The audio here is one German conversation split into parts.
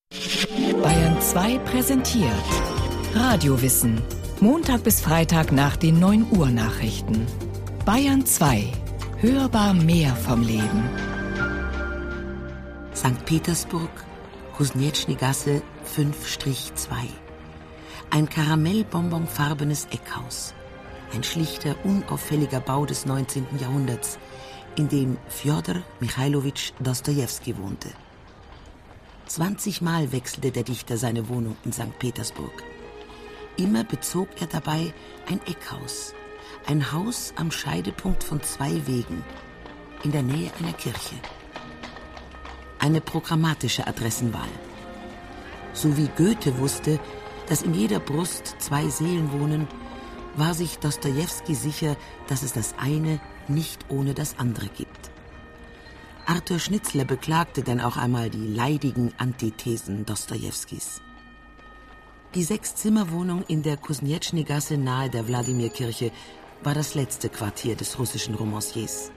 Bayern 2 präsentiert Radiowissen. Montag bis Freitag nach den 9 Uhr Nachrichten. Bayern 2. Hörbar mehr vom Leben. St. Petersburg, Kusnetschny Gasse 5-2. Ein karamellbonbonfarbenes Eckhaus. Ein schlichter, unauffälliger Bau des 19. Jahrhunderts, in dem Fjodor Michailowitsch Dostojewski wohnte. 20 Mal wechselte der Dichter seine Wohnung in St. Petersburg. Immer bezog er dabei ein Eckhaus, ein Haus am Scheidepunkt von 2 Wegen, in der Nähe einer Kirche. Eine programmatische Adressenwahl. So wie Goethe wusste, dass in jeder Brust 2 Seelen wohnen, war sich Dostojewski sicher, dass es das eine nicht ohne das andere gibt. Arthur Schnitzler beklagte dann auch einmal die leidigen Antithesen Dostojewskis. Die 6-Zimmer-Wohnung in der Kusnetschny-Gasse nahe der Wladimir-Kirche war das letzte Quartier des russischen Romanciers.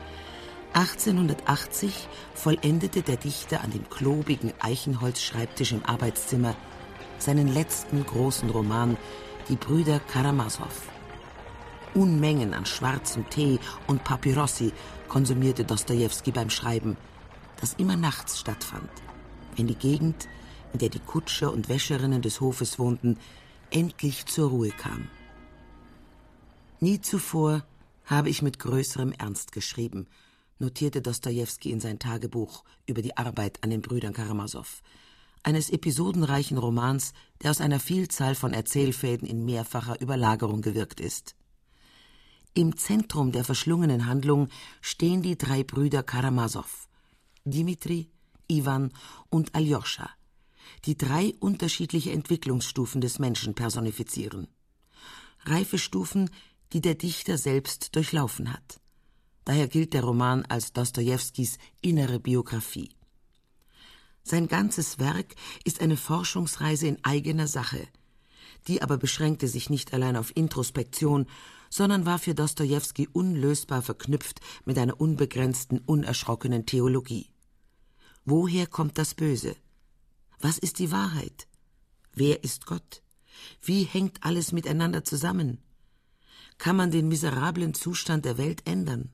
1880 vollendete der Dichter an dem klobigen Eichenholzschreibtisch im Arbeitszimmer seinen letzten großen Roman, Die Brüder Karamasow. Unmengen an schwarzem Tee und Papyrossi konsumierte Dostojewski beim Schreiben, das immer nachts stattfand, wenn die Gegend, in der die Kutscher und Wäscherinnen des Hofes wohnten, endlich zur Ruhe kam. Nie zuvor habe ich mit größerem Ernst geschrieben, notierte Dostojewski in sein Tagebuch über die Arbeit an den Brüdern Karamasow, eines episodenreichen Romans, der aus einer Vielzahl von Erzählfäden in mehrfacher Überlagerung gewirkt ist. Im Zentrum der verschlungenen Handlung stehen die 3 Brüder Karamasow, Dimitri, Iwan und Aljoscha, die 3 unterschiedliche Entwicklungsstufen des Menschen personifizieren. Reifestufen, die der Dichter selbst durchlaufen hat. Daher gilt der Roman als Dostojewskis innere Biografie. Sein ganzes Werk ist eine Forschungsreise in eigener Sache. Die aber beschränkte sich nicht allein auf Introspektion, sondern war für Dostojewski unlösbar verknüpft mit einer unbegrenzten, unerschrockenen Theologie. Woher kommt das Böse? Was ist die Wahrheit? Wer ist Gott? Wie hängt alles miteinander zusammen? Kann man den miserablen Zustand der Welt ändern?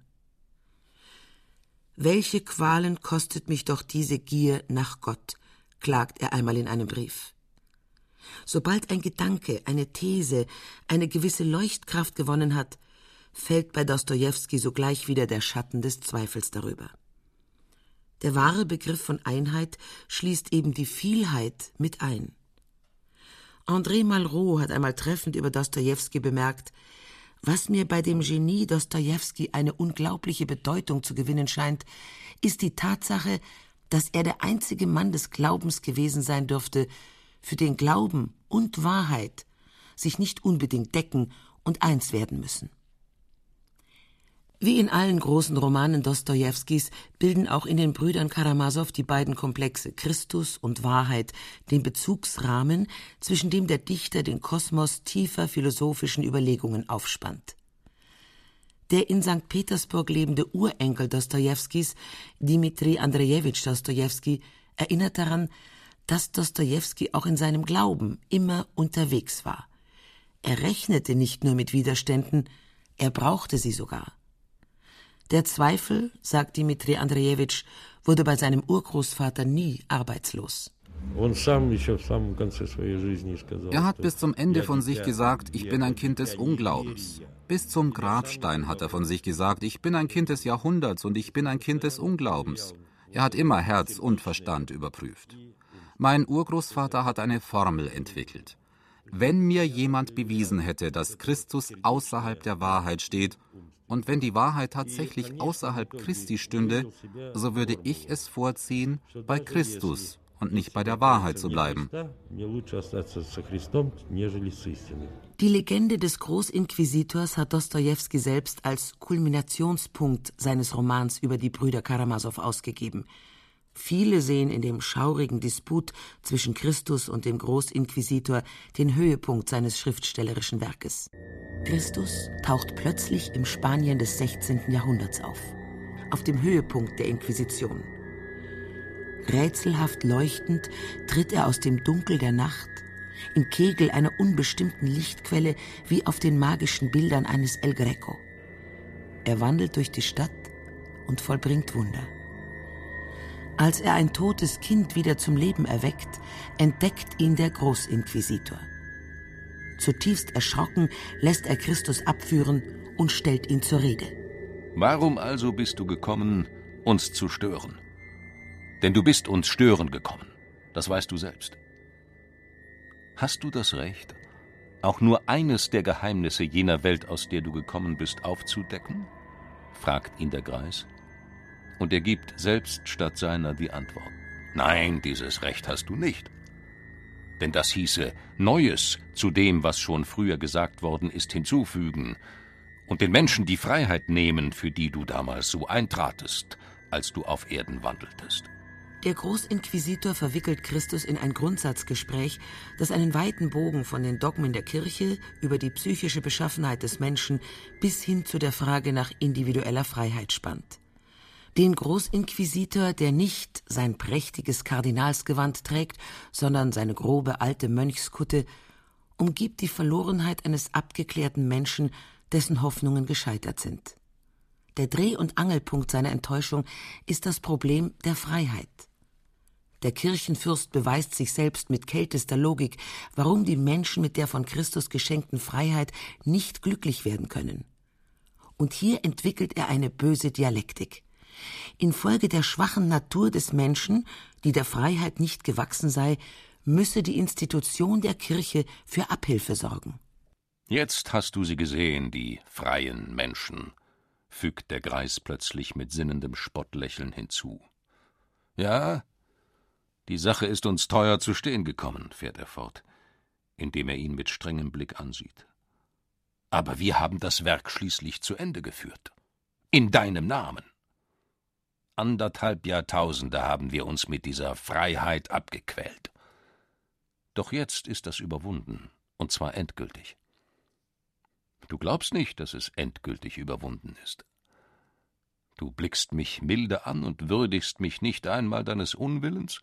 Welche Qualen kostet mich doch diese Gier nach Gott, klagt er einmal in einem Brief. Sobald ein Gedanke, eine These, eine gewisse Leuchtkraft gewonnen hat, fällt bei Dostojewski sogleich wieder der Schatten des Zweifels darüber. Der wahre Begriff von Einheit schließt eben die Vielheit mit ein. André Malraux hat einmal treffend über Dostojewski bemerkt: Was mir bei dem Genie Dostojewski eine unglaubliche Bedeutung zu gewinnen scheint, ist die Tatsache, dass er der einzige Mann des Glaubens gewesen sein dürfte, für den Glauben und Wahrheit sich nicht unbedingt decken und eins werden müssen. Wie in allen großen Romanen Dostojewskis bilden auch in den Brüdern Karamasow die beiden Komplexe Christus und Wahrheit den Bezugsrahmen, zwischen dem der Dichter den Kosmos tiefer philosophischen Überlegungen aufspannt. Der in St. Petersburg lebende Urenkel Dostojewskis, Dmitri Andrejewitsch Dostojewski, erinnert daran, dass Dostojewski auch in seinem Glauben immer unterwegs war. Er rechnete nicht nur mit Widerständen, er brauchte sie sogar. Der Zweifel, sagt Dmitri Andrejewitsch, wurde bei seinem Urgroßvater nie arbeitslos. Er hat bis zum Ende von sich gesagt, ich bin ein Kind des Unglaubens. Bis zum Grabstein hat er von sich gesagt, ich bin ein Kind des Jahrhunderts und ich bin ein Kind des Unglaubens. Er hat immer Herz und Verstand überprüft. Mein Urgroßvater hat eine Formel entwickelt. Wenn mir jemand bewiesen hätte, dass Christus außerhalb der Wahrheit steht, und wenn die Wahrheit tatsächlich außerhalb Christi stünde, so würde ich es vorziehen, bei Christus und nicht bei der Wahrheit zu bleiben. Die Legende des Großinquisitors hat Dostojewski selbst als Kulminationspunkt seines Romans über die Brüder Karamasow ausgegeben. Viele sehen in dem schaurigen Disput zwischen Christus und dem Großinquisitor den Höhepunkt seines schriftstellerischen Werkes. Christus taucht plötzlich im Spanien des 16. Jahrhunderts auf dem Höhepunkt der Inquisition. Rätselhaft leuchtend tritt er aus dem Dunkel der Nacht, im Kegel einer unbestimmten Lichtquelle wie auf den magischen Bildern eines El Greco. Er wandelt durch die Stadt und vollbringt Wunder. Als er ein totes Kind wieder zum Leben erweckt, entdeckt ihn der Großinquisitor. Zutiefst erschrocken lässt er Christus abführen und stellt ihn zur Rede. Warum also bist du gekommen, uns zu stören? Denn du bist uns stören gekommen, das weißt du selbst. Hast du das Recht, auch nur eines der Geheimnisse jener Welt, aus der du gekommen bist, aufzudecken? Fragt ihn der Greis. Und er gibt selbst statt seiner die Antwort. Nein, dieses Recht hast du nicht. Denn das hieße, Neues zu dem, was schon früher gesagt worden ist, hinzufügen und den Menschen die Freiheit nehmen, für die du damals so eintratest, als du auf Erden wandeltest. Der Großinquisitor verwickelt Christus in ein Grundsatzgespräch, das einen weiten Bogen von den Dogmen der Kirche über die psychische Beschaffenheit des Menschen bis hin zu der Frage nach individueller Freiheit spannt. Den Großinquisitor, der nicht sein prächtiges Kardinalsgewand trägt, sondern seine grobe alte Mönchskutte, umgibt die Verlorenheit eines abgeklärten Menschen, dessen Hoffnungen gescheitert sind. Der Dreh- und Angelpunkt seiner Enttäuschung ist das Problem der Freiheit. Der Kirchenfürst beweist sich selbst mit kältester Logik, warum die Menschen mit der von Christus geschenkten Freiheit nicht glücklich werden können. Und hier entwickelt er eine böse Dialektik. Infolge der schwachen Natur des Menschen, die der Freiheit nicht gewachsen sei, müsse die Institution der Kirche für Abhilfe sorgen. Jetzt hast du sie gesehen, die freien Menschen, fügt der Greis plötzlich mit sinnendem Spottlächeln hinzu. Ja, die Sache ist uns teuer zu stehen gekommen, fährt er fort, indem er ihn mit strengem Blick ansieht. Aber wir haben das Werk schließlich zu Ende geführt. In deinem Namen. 1,5 Jahrtausende haben wir uns mit dieser Freiheit abgequält. Doch jetzt ist das überwunden, und zwar endgültig. Du glaubst nicht, dass es endgültig überwunden ist. Du blickst mich milde an und würdigst mich nicht einmal deines Unwillens?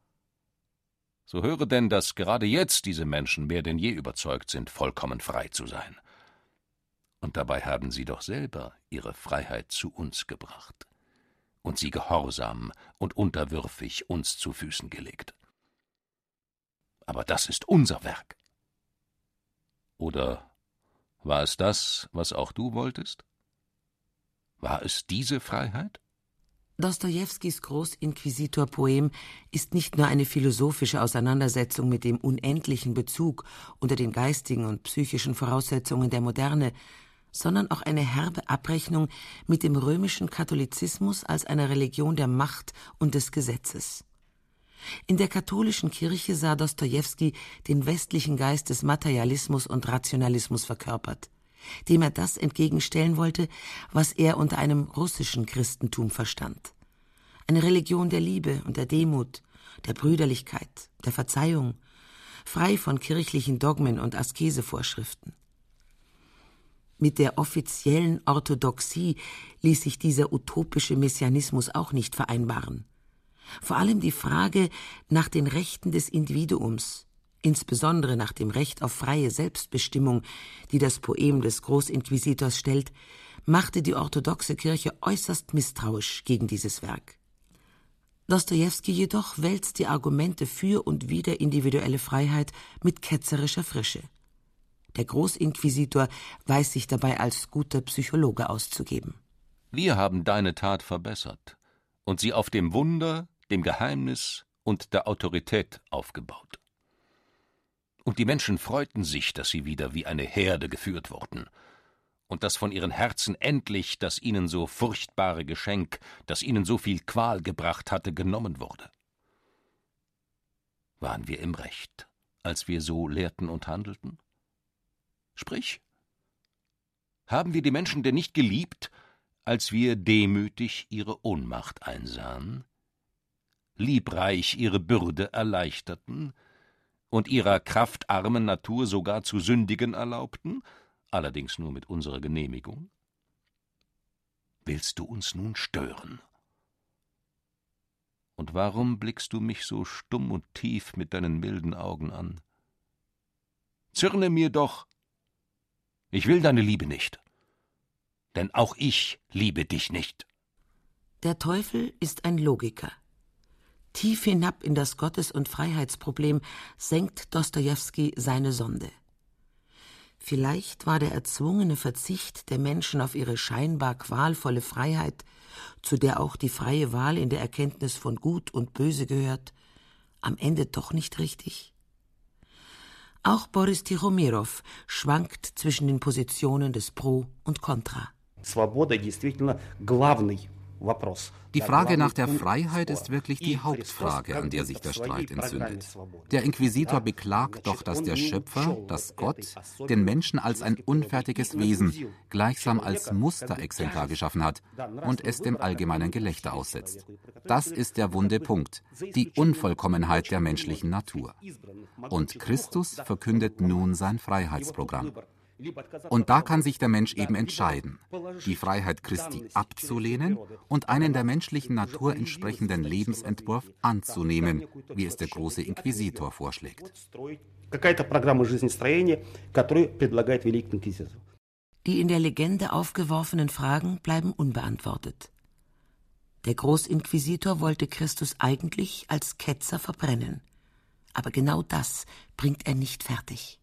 So höre denn, dass gerade jetzt diese Menschen mehr denn je überzeugt sind, vollkommen frei zu sein. Und dabei haben sie doch selber ihre Freiheit zu uns gebracht und sie gehorsam und unterwürfig uns zu Füßen gelegt. Aber das ist unser Werk. Oder war es das, was auch du wolltest? War es diese Freiheit? Dostojewskis Großinquisitor-Poem ist nicht nur eine philosophische Auseinandersetzung mit dem unendlichen Bezug unter den geistigen und psychischen Voraussetzungen der Moderne, sondern auch eine herbe Abrechnung mit dem römischen Katholizismus als einer Religion der Macht und des Gesetzes. In der katholischen Kirche sah Dostojewski den westlichen Geist des Materialismus und Rationalismus verkörpert, dem er das entgegenstellen wollte, was er unter einem russischen Christentum verstand. Eine Religion der Liebe und der Demut, der Brüderlichkeit, der Verzeihung, frei von kirchlichen Dogmen und Askesevorschriften. Mit der offiziellen Orthodoxie ließ sich dieser utopische Messianismus auch nicht vereinbaren. Vor allem die Frage nach den Rechten des Individuums, insbesondere nach dem Recht auf freie Selbstbestimmung, die das Poem des Großinquisitors stellt, machte die orthodoxe Kirche äußerst misstrauisch gegen dieses Werk. Dostojewski jedoch wälzt die Argumente für und wider individuelle Freiheit mit ketzerischer Frische. Der Großinquisitor weiß sich dabei als guter Psychologe auszugeben. Wir haben deine Tat verbessert und sie auf dem Wunder, dem Geheimnis und der Autorität aufgebaut. Und die Menschen freuten sich, dass sie wieder wie eine Herde geführt wurden und dass von ihren Herzen endlich das ihnen so furchtbare Geschenk, das ihnen so viel Qual gebracht hatte, genommen wurde. Waren wir im Recht, als wir so lehrten und handelten? Sprich, haben wir die Menschen denn nicht geliebt, als wir demütig ihre Ohnmacht einsahen, liebreich ihre Bürde erleichterten und ihrer kraftarmen Natur sogar zu sündigen erlaubten, allerdings nur mit unserer Genehmigung? Willst du uns nun stören? Und warum blickst du mich so stumm und tief mit deinen milden Augen an? Zürne mir doch! Ich will deine Liebe nicht, denn auch ich liebe dich nicht. Der Teufel ist ein Logiker. Tief hinab in das Gottes- und Freiheitsproblem senkt Dostojewski seine Sonde. Vielleicht war der erzwungene Verzicht der Menschen auf ihre scheinbar qualvolle Freiheit, zu der auch die freie Wahl in der Erkenntnis von Gut und Böse gehört, am Ende doch nicht richtig? Auch Boris Tichomirow schwankt zwischen den Positionen des Pro und Contra. Die Frage nach der Freiheit ist wirklich die Hauptfrage, an der sich der Streit entzündet. Der Inquisitor beklagt doch, dass der Schöpfer, dass Gott, den Menschen als ein unfertiges Wesen, gleichsam als Musterexemplar geschaffen hat und es dem allgemeinen Gelächter aussetzt. Das ist der wunde Punkt, die Unvollkommenheit der menschlichen Natur. Und Christus verkündet nun sein Freiheitsprogramm. Und da kann sich der Mensch eben entscheiden, die Freiheit Christi abzulehnen und einen der menschlichen Natur entsprechenden Lebensentwurf anzunehmen, wie es der große Inquisitor vorschlägt. Die in der Legende aufgeworfenen Fragen bleiben unbeantwortet. Der Großinquisitor wollte Christus eigentlich als Ketzer verbrennen. Aber genau das bringt er nicht fertig.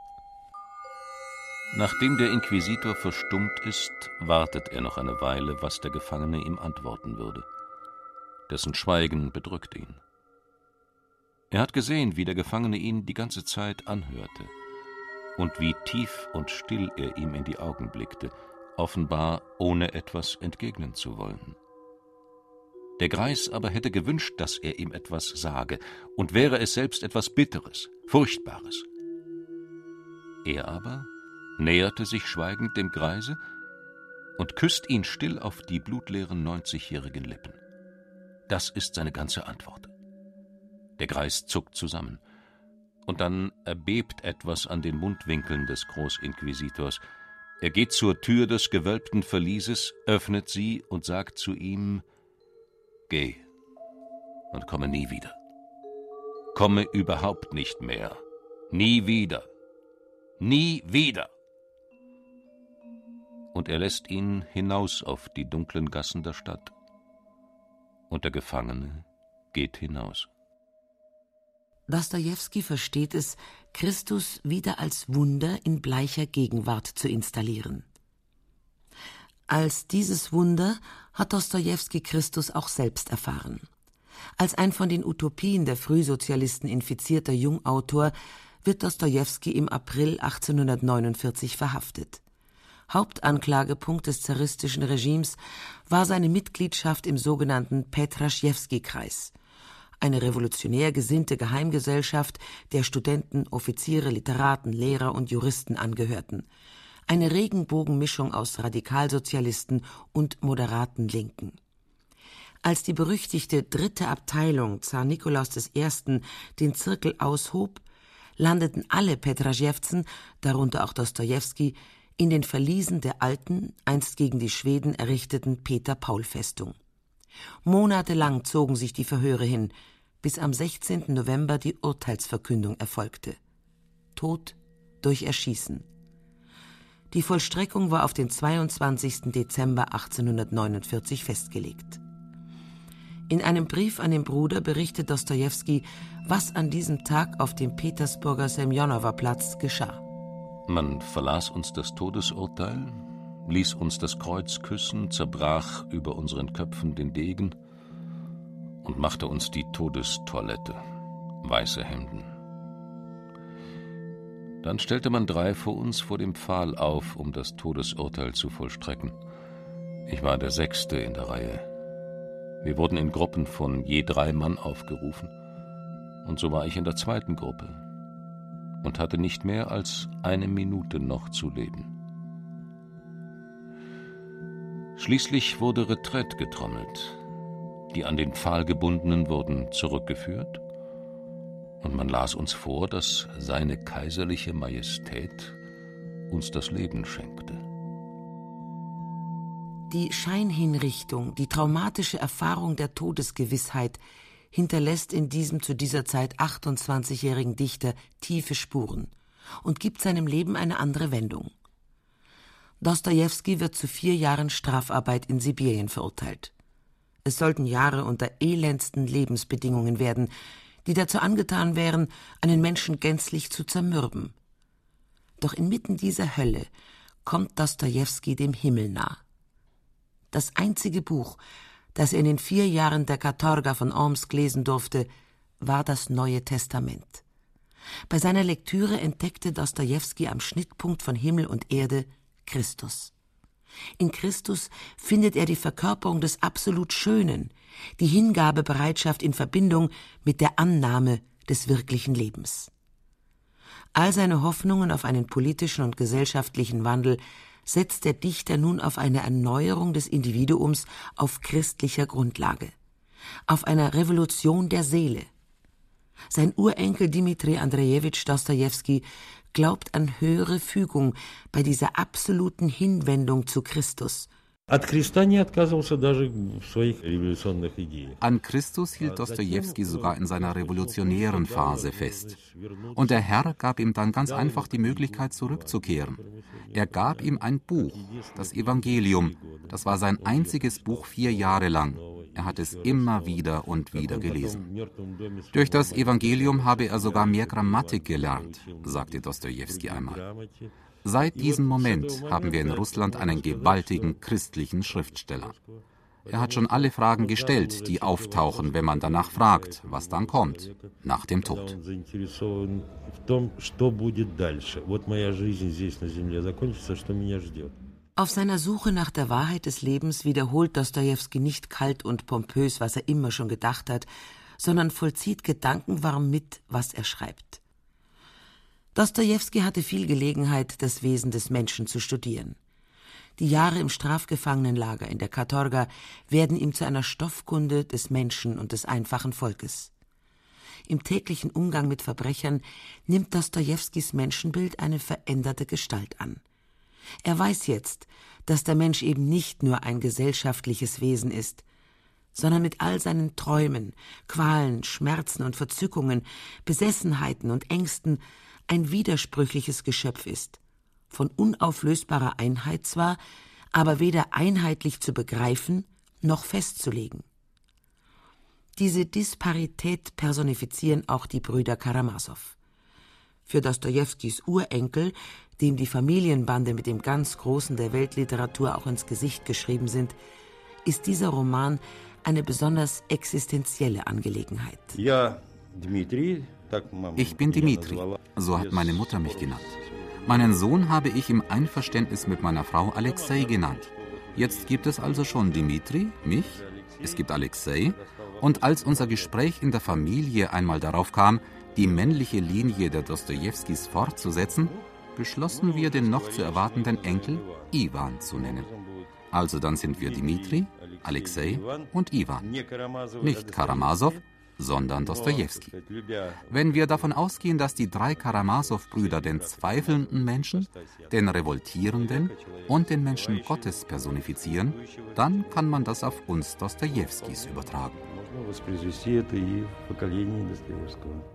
Nachdem der Inquisitor verstummt ist, wartet er noch eine Weile, was der Gefangene ihm antworten würde. Dessen Schweigen bedrückt ihn. Er hat gesehen, wie der Gefangene ihn die ganze Zeit anhörte und wie tief und still er ihm in die Augen blickte, offenbar ohne etwas entgegnen zu wollen. Der Greis aber hätte gewünscht, dass er ihm etwas sage, und wäre es selbst etwas Bitteres, Furchtbares. Er aber näherte sich schweigend dem Greise und küsst ihn still auf die blutleeren 90-jährigen Lippen. Das ist seine ganze Antwort. Der Greis zuckt zusammen, und dann erbebt etwas an den Mundwinkeln des Großinquisitors. Er geht zur Tür des gewölbten Verlieses, öffnet sie und sagt zu ihm: »Geh und komme nie wieder. Komme überhaupt nicht mehr. Nie wieder. Nie wieder!« Und er lässt ihn hinaus auf die dunklen Gassen der Stadt. Und der Gefangene geht hinaus. Dostojewski versteht es, Christus wieder als Wunder in bleicher Gegenwart zu installieren. Als dieses Wunder hat Dostojewski Christus auch selbst erfahren. Als ein von den Utopien der Frühsozialisten infizierter Jungautor wird Dostojewski im April 1849 verhaftet. Hauptanklagepunkt des zaristischen Regimes war seine Mitgliedschaft im sogenannten Petraschewski-Kreis, eine revolutionär gesinnte Geheimgesellschaft, der Studenten, Offiziere, Literaten, Lehrer und Juristen angehörten. Eine Regenbogenmischung aus Radikalsozialisten und moderaten Linken. Als die berüchtigte 3. Abteilung Zar Nikolaus I. den Zirkel aushob, landeten alle Petraschewzen, darunter auch Dostojewski, in den Verliesen der alten, einst gegen die Schweden errichteten Peter-Paul-Festung. Monatelang zogen sich die Verhöre hin, bis am 16. November die Urteilsverkündung erfolgte. Tod durch Erschießen. Die Vollstreckung war auf den 22. Dezember 1849 festgelegt. In einem Brief an den Bruder berichtet Dostojewski, was an diesem Tag auf dem Petersburger Semjonower-Platz geschah. Man verlas uns das Todesurteil, ließ uns das Kreuz küssen, zerbrach über unseren Köpfen den Degen und machte uns die Todestoilette, weiße Hemden. Dann stellte man 3 vor uns vor dem Pfahl auf, um das Todesurteil zu vollstrecken. Ich war der 6. in der Reihe. Wir wurden in Gruppen von je 3 Mann aufgerufen, und so war ich in der 2. Gruppe und hatte nicht mehr als 1 Minute noch zu leben. Schließlich wurde Retraite getrommelt. Die an den Pfahl gebundenen wurden zurückgeführt, und man las uns vor, dass seine kaiserliche Majestät uns das Leben schenkte. Die Scheinhinrichtung, die traumatische Erfahrung der Todesgewissheit, hinterlässt in diesem zu dieser Zeit 28-jährigen Dichter tiefe Spuren und gibt seinem Leben eine andere Wendung. Dostojewski wird zu 4 Jahren Strafarbeit in Sibirien verurteilt. Es sollten Jahre unter elendsten Lebensbedingungen werden, die dazu angetan wären, einen Menschen gänzlich zu zermürben. Doch inmitten dieser Hölle kommt Dostojewski dem Himmel nah. Das einzige Buch, das er in den 4 Jahren der Katorga von Omsk lesen durfte, war das Neue Testament. Bei seiner Lektüre entdeckte Dostojewski am Schnittpunkt von Himmel und Erde Christus. In Christus findet er die Verkörperung des absolut Schönen, die Hingabebereitschaft in Verbindung mit der Annahme des wirklichen Lebens. All seine Hoffnungen auf einen politischen und gesellschaftlichen Wandel setzt der Dichter nun auf eine Erneuerung des Individuums auf christlicher Grundlage, auf einer Revolution der Seele. Sein Urenkel Dmitri Andrejewitsch Dostojewski glaubt an höhere Fügung bei dieser absoluten Hinwendung zu Christus. An Christus hielt Dostojewski sogar in seiner revolutionären Phase fest. Und der Herr gab ihm dann ganz einfach die Möglichkeit, zurückzukehren. Er gab ihm ein Buch, das Evangelium. Das war sein einziges Buch 4 Jahre lang. Er hat es immer wieder und wieder gelesen. Durch das Evangelium habe er sogar mehr Grammatik gelernt, sagte Dostojewski einmal. Seit diesem Moment haben wir in Russland einen gewaltigen christlichen Schriftsteller. Er hat schon alle Fragen gestellt, die auftauchen, wenn man danach fragt, was dann kommt, nach dem Tod. Auf seiner Suche nach der Wahrheit des Lebens wiederholt Dostojewski nicht kalt und pompös, was er immer schon gedacht hat, sondern vollzieht gedankenwarm mit, was er schreibt. Dostojewski hatte viel Gelegenheit, das Wesen des Menschen zu studieren. Die Jahre im Strafgefangenenlager in der Katorga werden ihm zu einer Stoffkunde des Menschen und des einfachen Volkes. Im täglichen Umgang mit Verbrechern nimmt Dostojewskis Menschenbild eine veränderte Gestalt an. Er weiß jetzt, dass der Mensch eben nicht nur ein gesellschaftliches Wesen ist, sondern mit all seinen Träumen, Qualen, Schmerzen und Verzückungen, Besessenheiten und Ängsten ein widersprüchliches Geschöpf ist, von unauflösbarer Einheit zwar, aber weder einheitlich zu begreifen noch festzulegen. Diese Disparität personifizieren auch die Brüder Karamasow. Für Dostojewskis Urenkel, dem die Familienbande mit dem ganz Großen der Weltliteratur auch ins Gesicht geschrieben sind, ist dieser Roman eine besonders existenzielle Angelegenheit. Ich bin Dmitri, so hat meine Mutter mich genannt. Meinen Sohn habe ich im Einverständnis mit meiner Frau Alexei genannt. Jetzt gibt es also schon Dmitri, mich, es gibt Alexei, und als unser Gespräch in der Familie einmal darauf kam, die männliche Linie der Dostojewskis fortzusetzen, beschlossen wir, den noch zu erwartenden Enkel Iwan zu nennen. Also dann sind wir Dmitri, Alexei und Iwan. Nicht Karamasow, sondern Dostojewski. Wenn wir davon ausgehen, dass die 3 Karamasow-Brüder den zweifelnden Menschen, den Revoltierenden und den Menschen Gottes personifizieren, dann kann man das auf uns Dostojewskis übertragen.